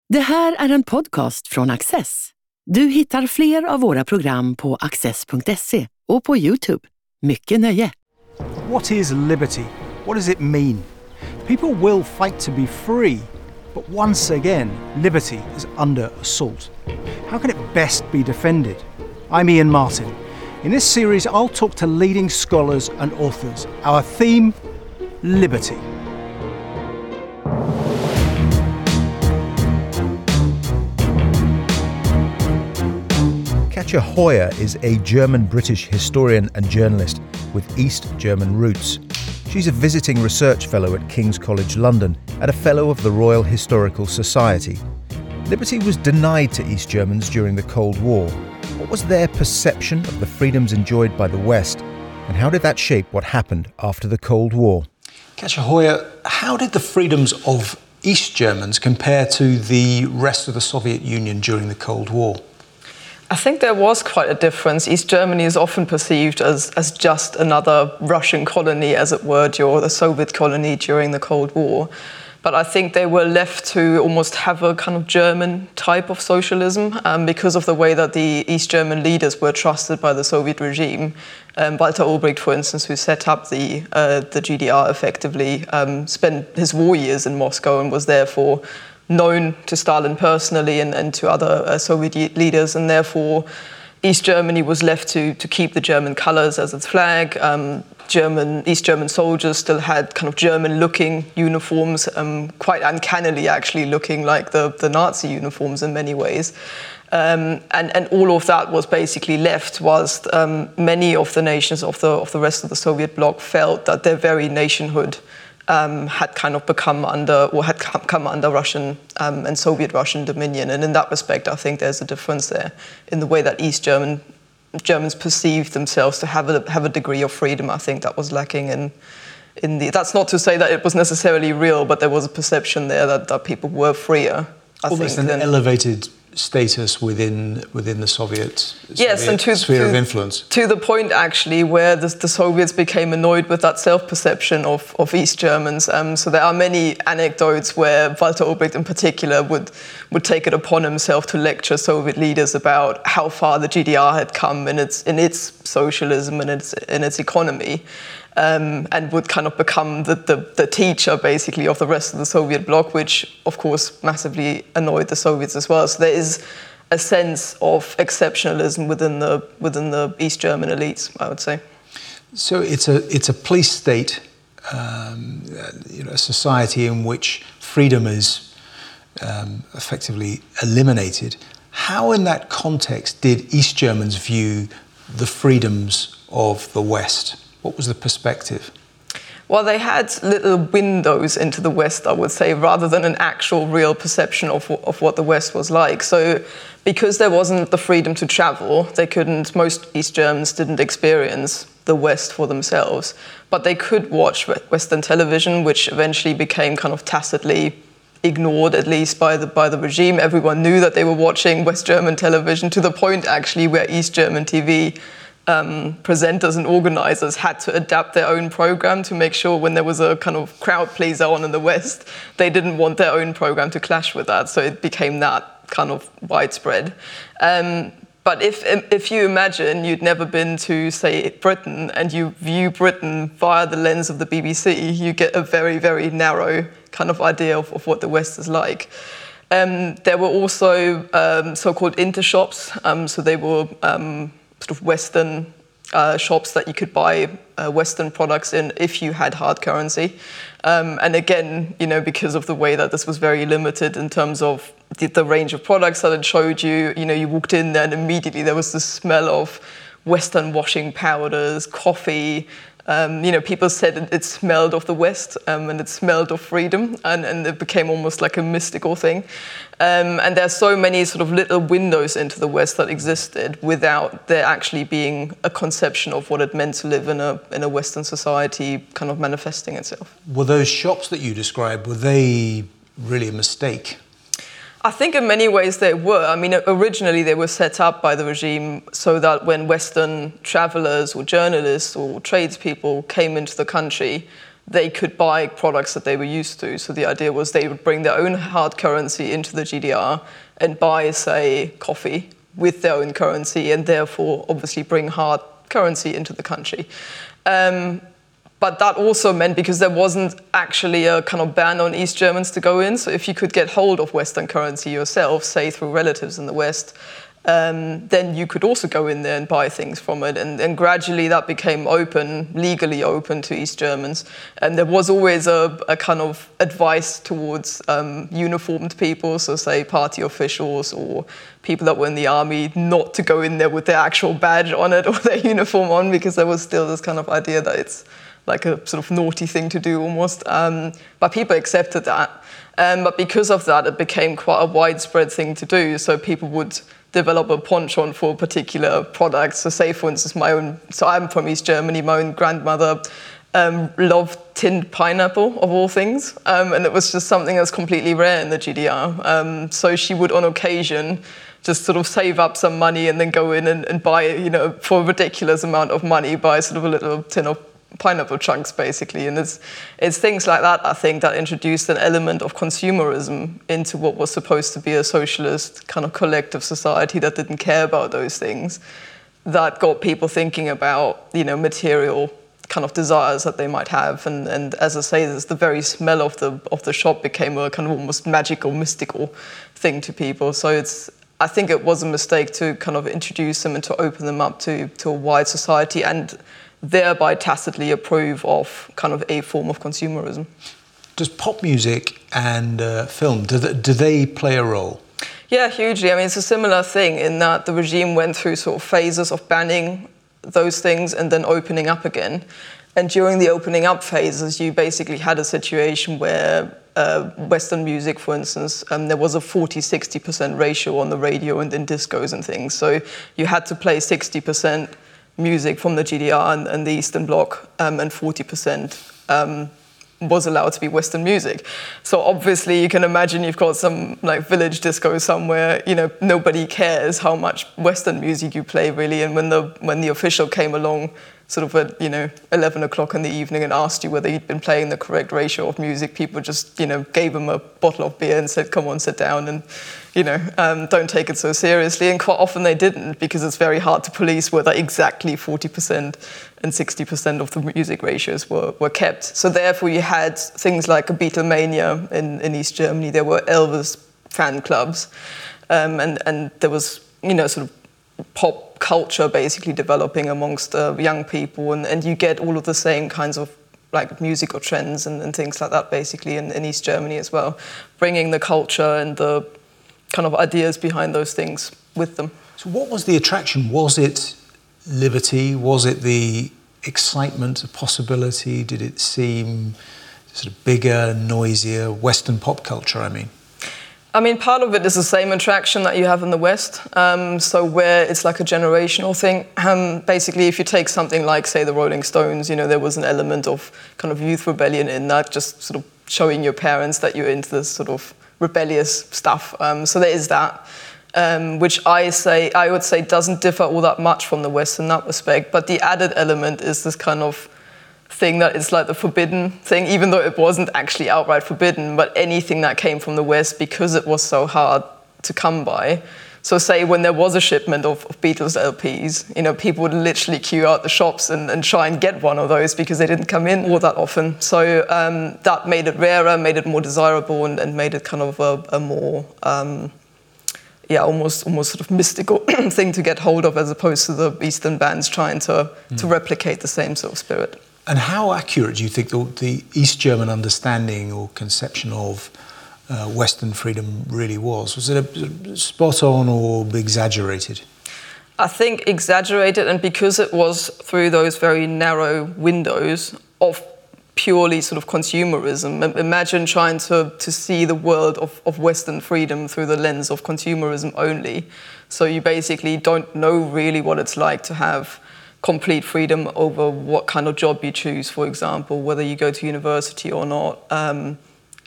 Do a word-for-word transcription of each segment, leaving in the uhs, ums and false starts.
Det här är en podcast från Access. Du hittar fler av våra program på access punkt se och på YouTube. Mycket nöje! What is liberty? What does it mean? People will fight to be free, but once again, liberty is under assault. How can it best be defended? I'm Ian Martin. In this series, I'll talk to leading scholars and authors. Our theme, liberty. Katja Hoyer is a German-British historian and journalist with East German roots. She's a visiting research fellow at King's College London and a fellow of the Royal Historical Society. Liberty was denied to East Germans during the Cold War. What was their perception of the freedoms enjoyed by the West, and how did that shape what happened after the Cold War? Katja Hoyer, how did the freedoms of East Germans compare to the rest of the Soviet Union during the Cold War? I think there was quite a difference. East Germany is often perceived as, as just another Russian colony, as it were, or a Soviet colony during the Cold War. But I think they were left to almost have a kind of German type of socialism um, because of the way that the East German leaders were trusted by the Soviet regime. Um, Walter Ulbricht, for instance, who set up the, uh, the G D R effectively, um, spent his war years in Moscow and was therefore known to Stalin personally and, and to other uh, Soviet leaders, and therefore East Germany was left to, to keep the German colours as its flag. Um, German East German soldiers still had kind of German-looking uniforms, um, quite uncannily actually looking like the, the Nazi uniforms in many ways. Um, and, and all of that was basically left whilst um, many of the nations of the, of the rest of the Soviet bloc felt that their very nationhood Um, had kind of become under, or had come under Russian um, and Soviet Russian dominion. And in that respect, I think there's a difference there in the way that East German Germans perceived themselves to have a, have a degree of freedom. I think that was lacking in, in the, that's not to say that it was necessarily real, but there was a perception there that, that people were freer, I Almost think. an than, elevated status within within the Soviet, yes, Soviet and to, sphere to, of influence. To the point, actually, where the, the Soviets became annoyed with that self-perception of, of East Germans. Um, so there are many anecdotes where Walter Ulbricht in particular would, would take it upon himself to lecture Soviet leaders about how far the G D R had come in its, in its socialism and its, in its economy. Um, and would kind of become the, the, the teacher, basically, of the rest of the Soviet bloc, which, of course, massively annoyed the Soviets as well. So there is a sense of exceptionalism within the within the East German elites, I would say. So it's a it's a police state, um, you know, a society in which freedom is um, effectively eliminated. How, in that context, did East Germans view the freedoms of the West? What was the perspective? Well, they had little windows into the West, I would say, rather than an actual real perception of, of what the West was like. So because there wasn't the freedom to travel, they couldn't, most East Germans didn't experience the West for themselves, but they could watch Western television, which eventually became kind of tacitly ignored, at least by the, by the regime. Everyone knew that they were watching West German television, to the point actually where East German T V Um, presenters and organisers had to adapt their own programme to make sure when there was a kind of crowd pleaser on in the West, they didn't want their own programme to clash with that. So it became that kind of widespread. Um, but if if you imagine you'd never been to, say, Britain, and you view Britain via the lens of the B B C, you get a very, very narrow kind of idea of, of what the West is like. Um, there were also um, so-called intershops, um, so they were um, sort of Western uh, shops that you could buy uh, Western products in if you had hard currency. Um, and again, you know, because of the way that this was very limited in terms of the, the range of products that it showed you, you know, you walked in there and immediately there was the smell of Western washing powders, coffee. Um, you know, people said it, it smelled of the West um, and it smelled of freedom, and, and it became almost like a mystical thing. Um, and there's so many sort of little windows into the West that existed without there actually being a conception of what it meant to live in a in a Western society kind of manifesting itself. Were those shops that you described, were they really a mistake? I think in many ways they were. I mean, originally they were set up by the regime so that when Western travelers or journalists or tradespeople came into the country, they could buy products that they were used to. So the idea was they would bring their own hard currency into the G D R and buy, say, coffee with their own currency, and therefore obviously bring hard currency into the country. Um, but that also meant, because there wasn't actually a kind of ban on East Germans to go in, so if you could get hold of Western currency yourself, say through relatives in the West, Um, then you could also go in there and buy things from it. And, and gradually that became open, legally open to East Germans. And there was always a, a kind of advice towards um, uniformed people, so say party officials or people that were in the army, not to go in there with their actual badge on it or their uniform on, because there was still this kind of idea that it's like a sort of naughty thing to do almost. Um, but people accepted that. Um, but because of that, it became quite a widespread thing to do. So people would develop a penchant for particular products. So say, for instance, my own, so I'm from East Germany, my own grandmother um, loved tinned pineapple, of all things. Um, and it was just something that's completely rare in the G D R. Um, so she would, on occasion, just sort of save up some money and then go in and, and buy, you know, for a ridiculous amount of money, buy sort of a little tin of pineapple chunks, basically. And it's, it's things like that, I think, that introduced an element of consumerism into what was supposed to be a socialist kind of collective society that didn't care about those things, that got people thinking about, you know, material kind of desires that they might have. And, and as I say, this, the very smell of the of the shop became a kind of almost magical, mystical thing to people. So it's, I think it was a mistake to kind of introduce them and to open them up to, to a wide society, and thereby tacitly approve of kind of a form of consumerism. Does pop music and uh, film, do they, do they play a role? Yeah, hugely. I mean, it's a similar thing in that the regime went through sort of phases of banning those things and then opening up again. And during the opening up phases, you basically had a situation where uh, Western music, for instance, um, there was a forty sixty percent ratio on the radio and in discos and things. So you had to play sixty percent music from the G D R and, and the Eastern Bloc, um, and forty percent um, was allowed to be Western music. So obviously you can imagine you've got some like village disco somewhere, you know, nobody cares how much Western music you play really. And when the when the official came along sort of at, you know, eleven o'clock in the evening and asked you whether you'd been playing the correct ratio of music, people just, you know, gave him a bottle of beer and said, come on, sit down and, you know, um, don't take it so seriously. And quite often they didn't, because it's very hard to police whether exactly forty percent and sixty percent of the music ratios were, were kept. So therefore you had things like a Beatlemania in, in East Germany. There were Elvis fan clubs, um, and, and there was, you know, sort of pop culture basically developing amongst uh, young people, and, and you get all of the same kinds of like musical trends and, and things like that basically in, in East Germany as well, bringing the culture and the kind of ideas behind those things with them. So what was the attraction? Was it liberty? Was it the excitement, the possibility? Did it seem sort of bigger, noisier, Western pop culture, I mean? I mean, part of it is the same attraction that you have in the West. Um, so where it's like a generational thing. Um, basically, if you take something like, say, the Rolling Stones, you know, there was an element of kind of youth rebellion in that, just sort of showing your parents that you're into this sort of rebellious stuff. Um, so there is that, um, which I say, I would say doesn't differ all that much from the West in that respect. But the added element is this kind of thing that is like the forbidden thing, even though it wasn't actually outright forbidden, but anything that came from the West, because it was so hard to come by. So say when there was a shipment of, of Beatles L Ps, you know, people would literally queue out the shops and, and try and get one of those because they didn't come in all that often. So um, that made it rarer, made it more desirable, and, and made it kind of a, a more, um, yeah, almost almost sort of mystical thing to get hold of, as opposed to the Eastern bands trying to, mm. to replicate the same sort of spirit. And how accurate do you think the, the East German understanding or conception of uh, Western freedom really was? Was it a, spot on or exaggerated? I think exaggerated, and because it was through those very narrow windows of purely sort of consumerism. Imagine trying to, to see the world of, of Western freedom through the lens of consumerism only. So you basically don't know really what it's like to have complete freedom over what kind of job you choose, for example, whether you go to university or not. Um,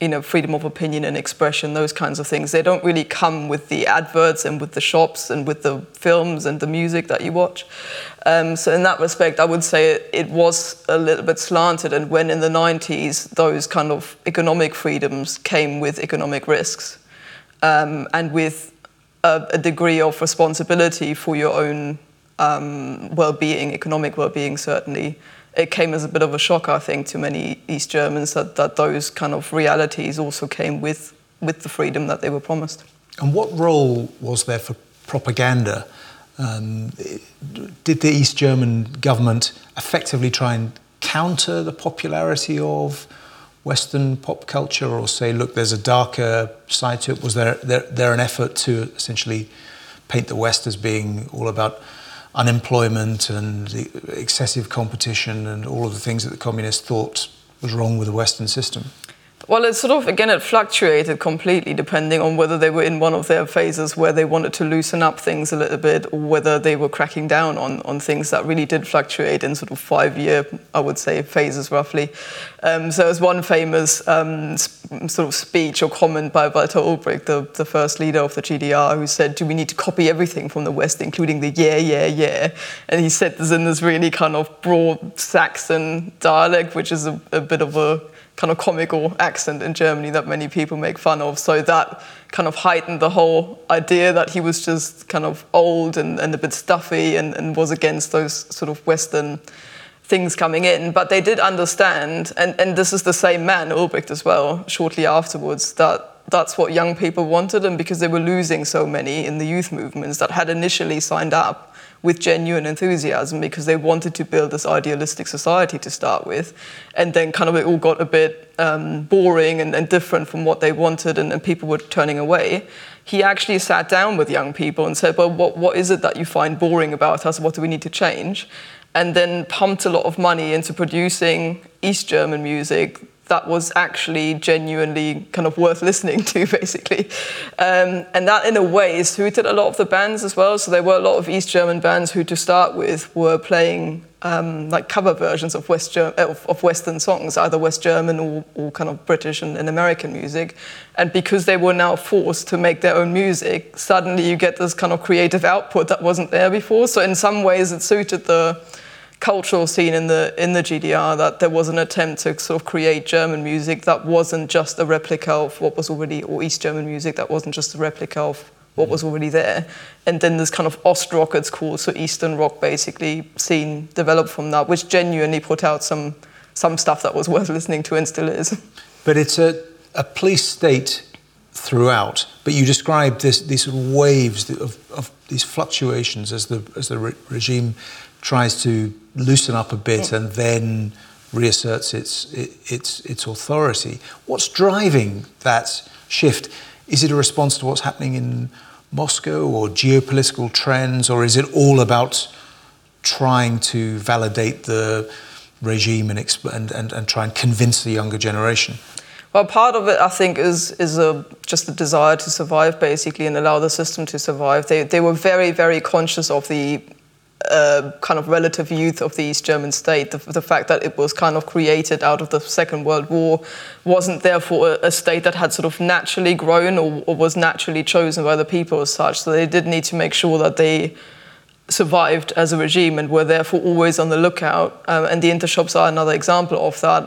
you know, freedom of opinion and expression, those kinds of things. They don't really come with the adverts and with the shops and with the films and the music that you watch. Um, so in that respect, I would say it, it was a little bit slanted. And when in the nineties, those kind of economic freedoms came with economic risks um, and with a, a degree of responsibility for your own um, well-being, economic well-being certainly, it came as a bit of a shock, I think, to many East Germans that, that those kind of realities also came with, with the freedom that they were promised. And what role was there for propaganda? Um, did the East German government effectively try and counter the popularity of Western pop culture, or say, look, there's a darker side to it? Was there, there, there an effort to essentially paint the West as being all about unemployment and excessive competition and all of the things that the communists thought was wrong with the Western system? Well, it sort of, again, it fluctuated completely depending on whether they were in one of their phases where they wanted to loosen up things a little bit, or whether they were cracking down on, on things that really did fluctuate in sort of five-year, I would say, phases roughly. Um, so there's one famous um, sp- sort of speech or comment by Walter Ulbricht, the, the first leader of the G D R, who said, do we need to copy everything from the West, including the yeah, yeah, yeah? And he said this in this really kind of broad Saxon dialect, which is a, a bit of a kind of comical accent in Germany that many people make fun of. So that kind of heightened the whole idea that he was just kind of old and, and a bit stuffy and, and was against those sort of Western things coming in. But they did understand, and, and this is the same man, Ulbricht as well, shortly afterwards, that that's what young people wanted. And because they were losing so many in the youth movements that had initially signed up with genuine enthusiasm because they wanted to build this idealistic society to start with, and then kind of it all got a bit um, boring and, and different from what they wanted, and, and people were turning away. He actually sat down with young people and said, well, what, what is it that you find boring about us? What do we need to change? And then pumped a lot of money into producing East German music that was actually genuinely kind of worth listening to, basically. Um, and that, in a way, suited a lot of the bands as well. So there were a lot of East German bands who, to start with, were playing um, like cover versions of, West Ger- of, of Western songs, either West German or, or kind of British and, and American music. And because they were now forced to make their own music, suddenly you get this kind of creative output that wasn't there before. So in some ways, it suited the cultural scene in the in the G D R that there was an attempt to sort of create German music that wasn't just a replica of what was already, or East German music that wasn't just a replica of what was already there. And then this kind of Ostrock, it's called, so Eastern rock basically, scene developed from that, which genuinely put out some some stuff that was worth listening to and still is. But it's a, a police state throughout, but you described this, these sort of waves of, of these fluctuations as the as the re- regime tries to loosen up a bit and then reasserts its its its authority. What's driving that shift? Is it a response to what's happening in Moscow or geopolitical trends, or is it all about trying to validate the regime and exp- and, and, and try and convince the younger generation? Well, part of it, I think, is is a, just a desire to survive, basically, and allow the system to survive. They they were very, very conscious of the Uh, kind of relative youth of the East German state, the, the fact that it was kind of created out of the Second World War, wasn't therefore a, a state that had sort of naturally grown or, or was naturally chosen by the people as such. So they did need to make sure that they survived as a regime and were therefore always on the lookout. Um, and the intershops are another example of that,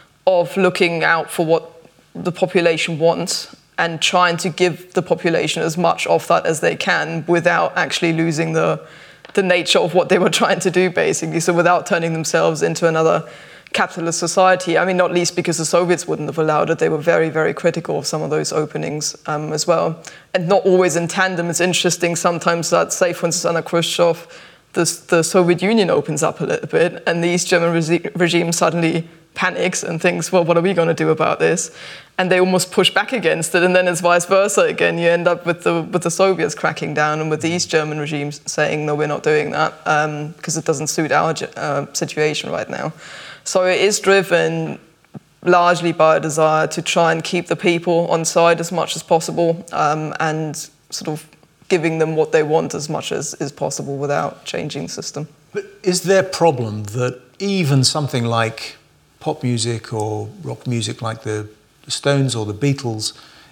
of looking out for what the population wants and trying to give the population as much of that as they can without actually losing the the nature of what they were trying to do, basically. So without turning themselves into another capitalist society. I mean, not least because the Soviets wouldn't have allowed it. They were very, very critical of some of those openings um, as well. And not always in tandem. It's interesting sometimes that, say, for instance, under Khrushchev, the, the Soviet Union opens up a little bit and the East German re- regime suddenly panics and thinks, well, what are we going to do about this? And they almost push back against it, and then it's vice versa again. You end up with the with the Soviets cracking down and with the East German regimes saying, no, we're not doing that because um, it doesn't suit our uh, situation right now. So it is driven largely by a desire to try and keep the people on side as much as possible um, and sort of giving them what they want as much as is possible without changing the system. But is there a problem that even something like pop music or rock music like the the Stones or the Beatles,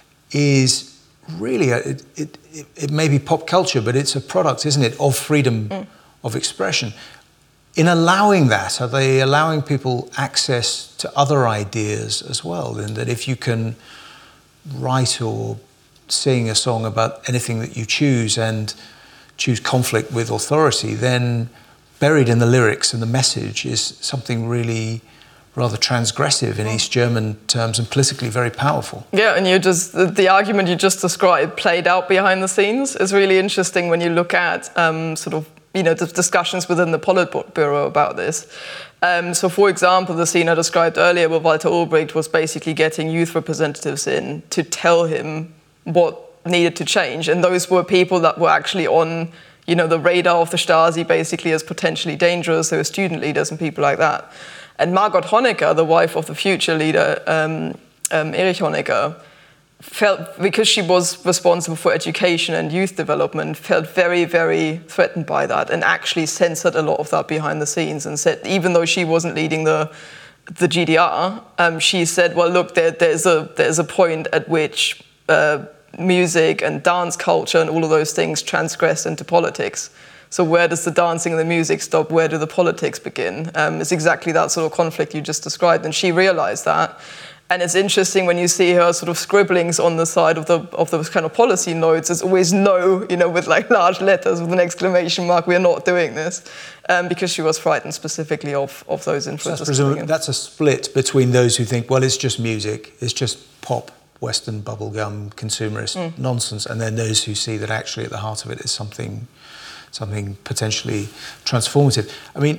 is really, a, it, it, it may be pop culture, but it's a product, isn't it, of freedom mm. of expression. In allowing that, are they allowing people access to other ideas as well? And that if you can write or sing a song about anything that you choose and choose conflict with authority, then buried in the lyrics and the message is something really rather transgressive in East German terms and politically very powerful. Yeah, and you just the, the argument you just described played out behind the scenes is really interesting when you look at um, sort of you know the discussions within the Politburo about this. Um, so, for example, the scene I described earlier where Walter Ulbricht was basically getting youth representatives in to tell him what needed to change, and those were people that were actually on you know the radar of the Stasi basically as potentially dangerous. They were student leaders and people like that. And Margot Honecker, the wife of the future leader, um, um, Erich Honecker, felt, because she was responsible for education and youth development, felt very, very threatened by that and actually censored a lot of that behind the scenes and said, even though she wasn't leading the the G D R, um, she said, well, look, there, there's a there's a point at which uh, music and dance culture and all of those things transgress into politics. So where does the dancing and the music stop? Where do the politics begin? Um, it's exactly that sort of conflict you just described, and she realized that. And it's interesting when you see her sort of scribblings on the side of the of those kind of policy notes. It's always no, you know, with like large letters with an exclamation mark. We are not doing this, um, because she was frightened specifically of of those influences. So that's, that's a split between those who think, well, it's just music, it's just pop, Western bubblegum, consumerist mm. nonsense, and then those who see that actually at the heart of it is something, something potentially transformative. I mean,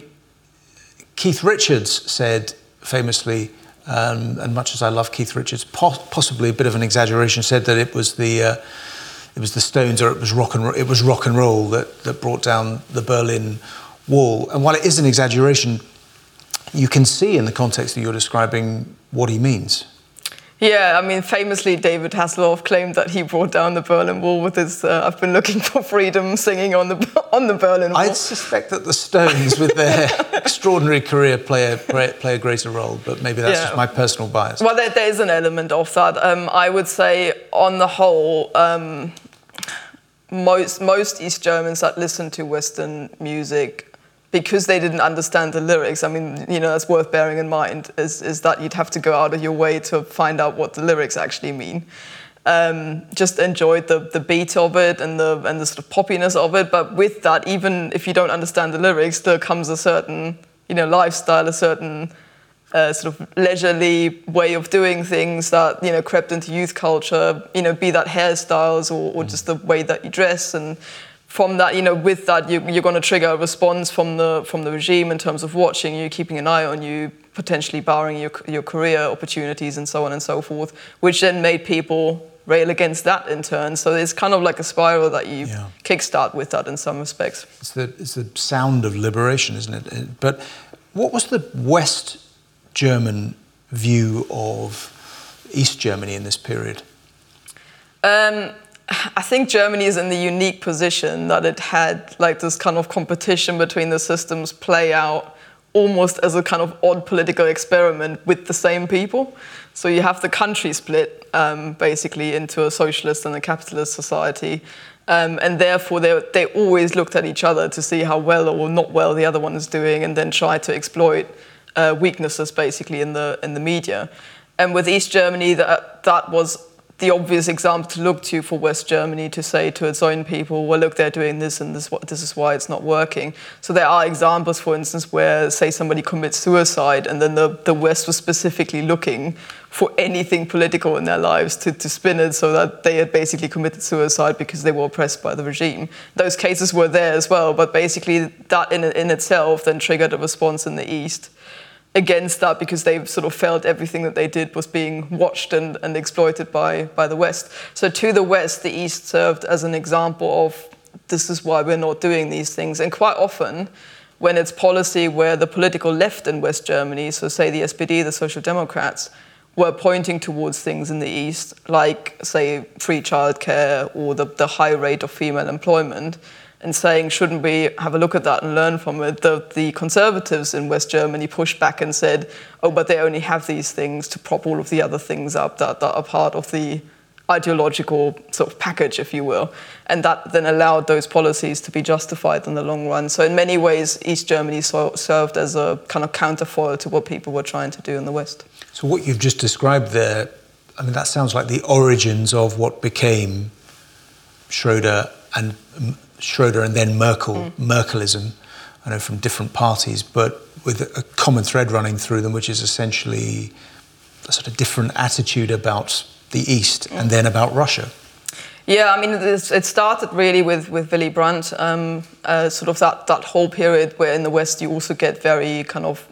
Keith Richards said famously. Um, and much as I love Keith Richards, po- possibly a bit of an exaggeration, said that it was the uh, it was the Stones or it was rock and ro- it was rock and roll that, that brought down the Berlin Wall. And while it is an exaggeration, you can see in the context that you're describing what he means. Yeah, I mean, famously, David Hasselhoff claimed that he brought down the Berlin Wall with his uh, "I've been looking for freedom" singing on the on the Berlin Wall. I suspect that the Stones, with their extraordinary career, play a play a greater role, but maybe that's yeah. just my personal bias. Well, there, there is an element of that. Um, I would say, on the whole, um, most most East Germans that listen to Western music, because they didn't understand the lyrics, I mean, you know, that's worth bearing in mind, is, is that you'd have to go out of your way to find out what the lyrics actually mean. Um, just enjoyed the, the beat of it and the and the sort of poppiness of it, but with that, even if you don't understand the lyrics, there comes a certain, you know, lifestyle, a certain uh, sort of leisurely way of doing things that, you know, crept into youth culture, you know, be that hairstyles or, or just the way that you dress. And from that, you know, with that, you, you're going to trigger a response from the from the regime in terms of watching you, keeping an eye on you, potentially barring your your career opportunities and so on and so forth, which then made people rail against that in turn. So it's kind of like a spiral that you yeah. kickstart with that in some respects. It's the it's the sound of liberation, isn't it? But what was the West German view of East Germany in this period? Um, I think Germany is in the unique position that it had like this kind of competition between the systems play out almost as a kind of odd political experiment with the same people. So you have the country split um, basically into a socialist and a capitalist society. Um, and therefore they they always looked at each other to see how well or not well the other one is doing, and then try to exploit uh, weaknesses basically in the in the media. And with East Germany, that that was the obvious example to look to for West Germany to say to its own people, well, look, they're doing this and this, this is why it's not working. So there are examples, for instance, where, say, somebody commits suicide and then the, the West was specifically looking for anything political in their lives to, to spin it so that they had basically committed suicide because they were oppressed by the regime. Those cases were there as well, but basically that in, in itself then triggered a response in the East against that, because they sort of felt everything that they did was being watched and, and exploited by, by the West. So to the West, the East served as an example of this is why we're not doing these things. And quite often, when it's policy where the political left in West Germany, so say the S P D, the Social Democrats, were pointing towards things in the East, like, say, free childcare or the, the high rate of female employment, and saying, shouldn't we have a look at that and learn from it? The, the conservatives in West Germany pushed back and said, oh, but they only have these things to prop all of the other things up that, that are part of the ideological sort of package, if you will. And that then allowed those policies to be justified in the long run. So in many ways, East Germany so, served as a kind of counterfoil to what people were trying to do in the West. So what you've just described there, I mean, that sounds like the origins of what became Schröder and Schröder and then Merkel, mm. Merkelism, I know from different parties, but with a common thread running through them, which is essentially a sort of different attitude about the East mm. and then about Russia. Yeah, I mean, it started really with, with Willy Brandt, um, uh, sort of that, that whole period where in the West you also get very kind of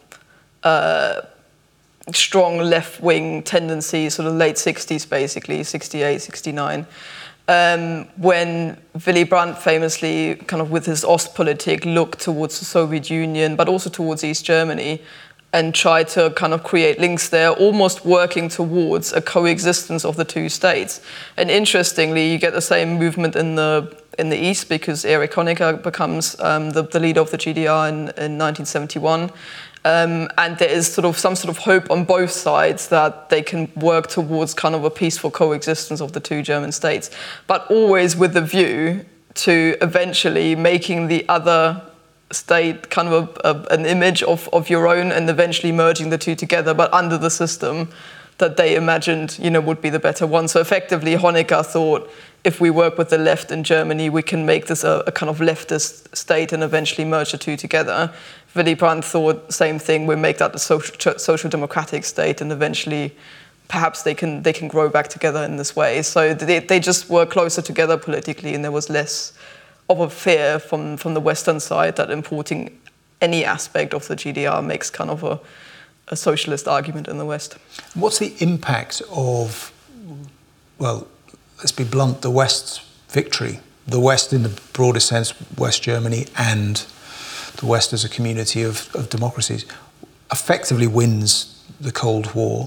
uh, strong left-wing tendencies, sort of late sixties basically, sixty-eight, sixty-nine. Um, when Willy Brandt famously, kind of with his Ostpolitik, looked towards the Soviet Union, but also towards East Germany, and tried to kind of create links there, almost working towards a coexistence of the two states. And interestingly, you get the same movement in the in the East, because Erich Honecker becomes um, the, the leader of the G D R in, in nineteen seventy-one. Um, and there is sort of some sort of hope on both sides that they can work towards kind of a peaceful coexistence of the two German states, but always with the view to eventually making the other state kind of a, a, an image of, of your own, and eventually merging the two together, but under the system that they imagined, you know, would be the better one. So effectively, Honecker thought, if we work with the left in Germany, we can make this a, a kind of leftist state and eventually merge the two together. Willy Brandt thought same thing, we make that a social, social democratic state, and eventually perhaps they can they can grow back together in this way. So they, they just were closer together politically, and there was less of a fear from, from the Western side that importing any aspect of the G D R makes kind of a, a socialist argument in the West. What's the impact of, well, let's be blunt, the West's victory? The West in the broadest sense, West Germany, and the West as a community of, of democracies, effectively wins the Cold War.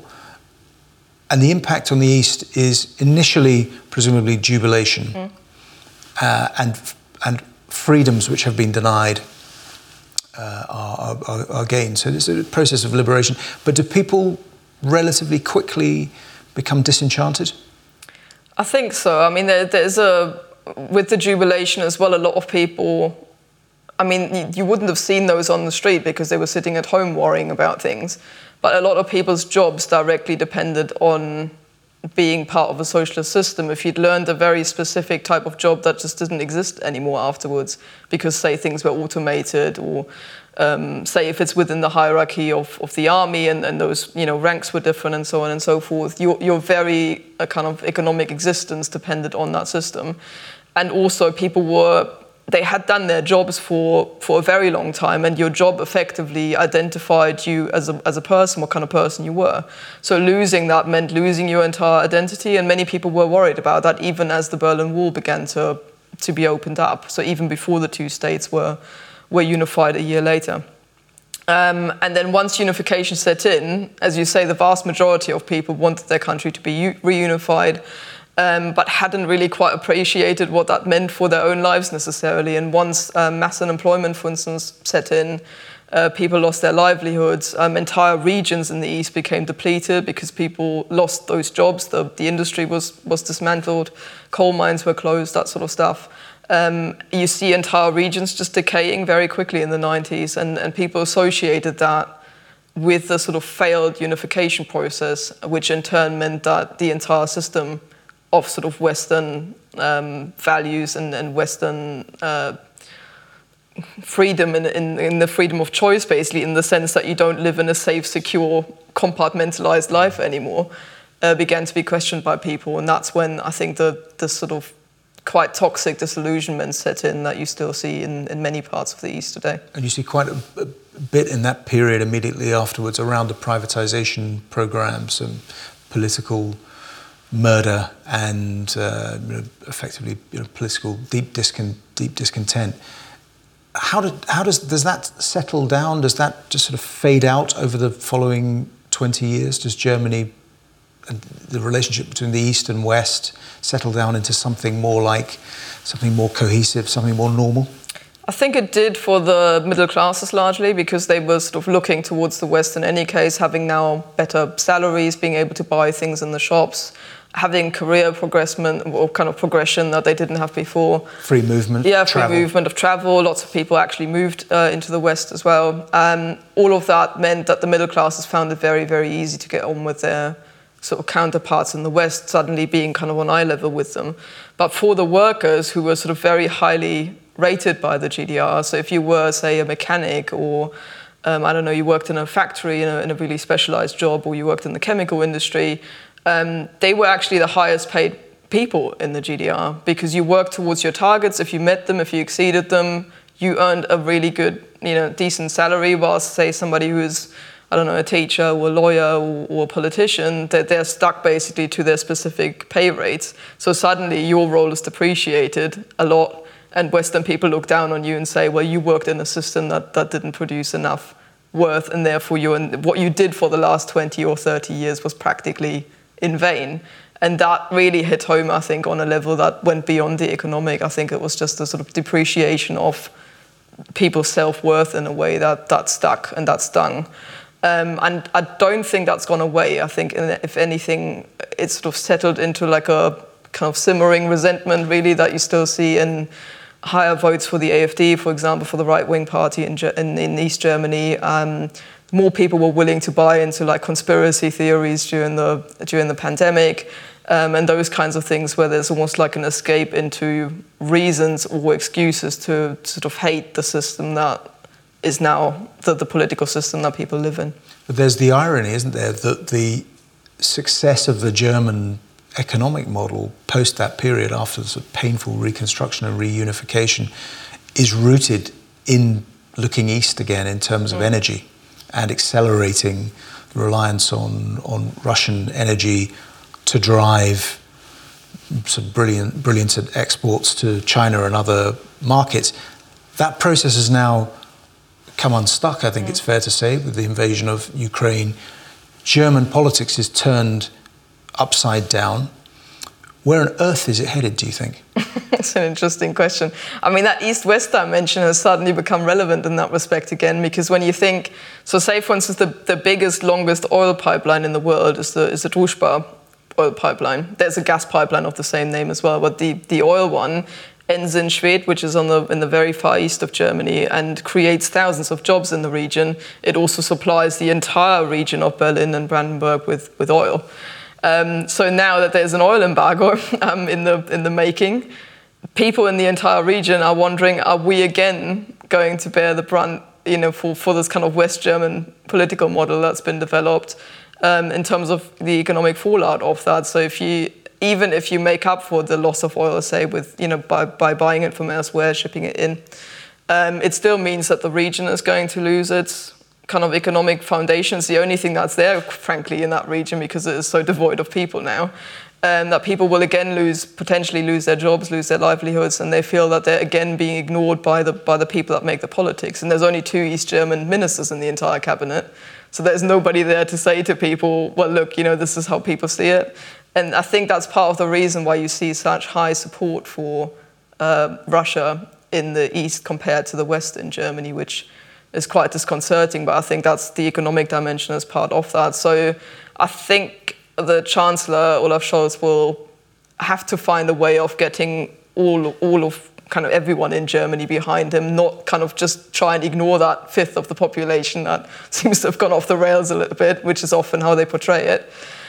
And the impact on the East is initially, presumably, jubilation mm. uh, and and freedoms which have been denied uh, are, are, are gained. So there's a process of liberation. But do people relatively quickly become disenchanted? I think so. I mean, there, there's a, with the jubilation as well, a lot of people, I mean, you, you wouldn't have seen those on the street because they were sitting at home worrying about things. But a lot of people's jobs directly depended on being part of a socialist system. If you'd learned a very specific type of job that just didn't exist anymore afterwards, because say things were automated, or um, say if it's within the hierarchy of, of the army and, and those, you know, ranks were different and so on and so forth, your, your very uh, kind of economic existence depended on that system. And also people were, they had done their jobs for, for a very long time, and your job effectively identified you as a, as a person, what kind of person you were. So losing that meant losing your entire identity, and many people were worried about that even as the Berlin Wall began to, to be opened up. So even before the two states were, were unified a year later. Um, and then once unification set in, as you say, the vast majority of people wanted their country to be u- reunified, Um, but hadn't really quite appreciated what that meant for their own lives necessarily. And once um, mass unemployment, for instance, set in, uh, people lost their livelihoods. Um, entire regions in the East became depleted because people lost those jobs. The, the industry was, was dismantled, coal mines were closed, that sort of stuff. Um, you see entire regions just decaying very quickly in the nineties, and, and people associated that with the sort of failed unification process, which in turn meant that the entire system of sort of Western um, values and, and Western uh, freedom in, in, in the freedom of choice, basically, in the sense that you don't live in a safe, secure, compartmentalized life anymore, uh, began to be questioned by people. And that's when I think the, the sort of quite toxic disillusionment set in that you still see in, in many parts of the East today. And you see quite a, a bit in that period immediately afterwards around the privatization programs and political murder and uh, you know, effectively you know, political deep discon- deep discontent. How did how does does that settle down? Does that just sort of fade out over the following twenty years? Does Germany and the relationship between the East and West settle down into something more like something more cohesive, something more normal? I think it did for the middle classes largely, because they were sort of looking towards the West in any case, having now better salaries, being able to buy things in the shops, having career progression or kind of progression that they didn't have before. Free movement, yeah, free travel. movement of travel. Lots of people actually moved uh, into the West as well. Um, all of that meant that the middle classes found it very, very easy to get on with their sort of counterparts in the West, suddenly being kind of on eye level with them. But for the workers who were sort of very highly rated by the G D R, so if you were, say, a mechanic or um, I don't know, you worked in a factory in a, in a really specialized job, or you worked in the chemical industry, um, they were actually the highest paid people in the G D R, because you worked towards your targets. If you met them, if you exceeded them, you earned a really good, you know, decent salary, whilst, say, somebody who's, I don't know, a teacher or a lawyer or, or a politician, that they're stuck basically to their specific pay rates. So suddenly your role is depreciated a lot, and Western people look down on you and say, well, you worked in a system that, that didn't produce enough worth, and therefore you and what you did for the last twenty or thirty years was practically in vain. And that really hit home, I think, on a level that went beyond the economic. I think it was just a sort of depreciation of people's self-worth in a way that, that stuck and that stung. Um, and I don't think that's gone away. I think, if anything, it's sort of settled into like a kind of simmering resentment, really, that you still see in higher votes for the A F D, for example, for the right-wing party in, in, in East Germany. Um, more people were willing to buy into like conspiracy theories during the during the pandemic, um, and those kinds of things, where there's almost like an escape into reasons or excuses to sort of hate the system that is now the, the political system that people live in. But there's the irony, isn't there, that the success of the German economic model post that period, after the sort of painful reconstruction and reunification, is rooted in looking east again in terms of mm. energy, and accelerating the reliance on, on Russian energy to drive some brilliant, brilliant exports to China and other markets. That process has now come unstuck, I think mm. it's fair to say, with the invasion of Ukraine. German politics is turned upside down. Where on earth is it headed, do you think? That's an interesting question. I mean, that East-West dimension has suddenly become relevant in that respect again, because when you think, so say, for instance, the, the biggest, longest oil pipeline in the world is the, is the Druzhba oil pipeline. There's a gas pipeline of the same name as well, but the, the oil one ends in Schwedt, which is on the, in the very far east of Germany, and creates thousands of jobs in the region. It also supplies the entire region of Berlin and Brandenburg with, with oil. Um, so now that there's an oil embargo um, in the in the making, people in the entire region are wondering, are we again going to bear the brunt, you know, for, for this kind of West German political model that's been developed um, in terms of the economic fallout of that? So if you, even if you make up for the loss of oil, say, with, you know, by, by buying it from elsewhere, shipping it in, um, it still means that the region is going to lose its kind of economic foundations, the only thing that's there, frankly, in that region, because it is so devoid of people now, um, that people will again lose, potentially lose their jobs, lose their livelihoods, and they feel that they're again being ignored by the by the people that make the politics. And there's only two East German ministers in the entire cabinet, so there's nobody there to say to people, well, look, you know, this is how people see it. And I think that's part of the reason why you see such high support for uh, Russia in the East compared to the West in Germany, which is quite disconcerting, but I think that's the economic dimension as part of that. So I think the Chancellor, Olaf Scholz, will have to find a way of getting all, all of kind of everyone in Germany behind him, not kind of just try and ignore that fifth of the population that seems to have gone off the rails a little bit, which is often how they portray it.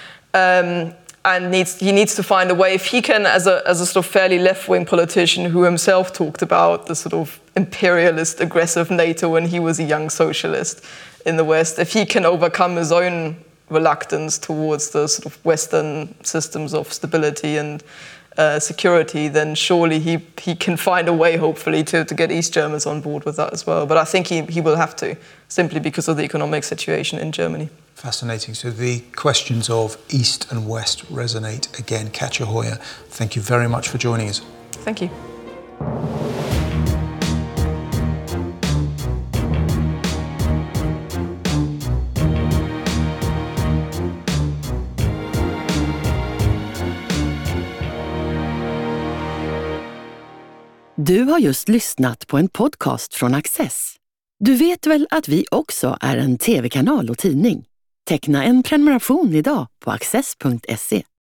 Um, and needs, he needs to find a way, if he can, as a, as a sort of fairly left-wing politician who himself talked about the sort of imperialist, aggressive NATO when he was a young socialist in the West, if he can overcome his own reluctance towards the sort of Western systems of stability and uh, security, then surely he, he can find a way, hopefully, to, to get East Germans on board with that as well. But I think he, he will have to, simply because of the economic situation in Germany. Fascinating. So the questions of East and West resonate again. Katja Hoyer, thank you very much for joining us. Thank you. Du har just lyssnat på en podcast från Access. Du vet väl att vi också är en tv-kanal och tidning? Teckna en prenumeration idag på access punkt se.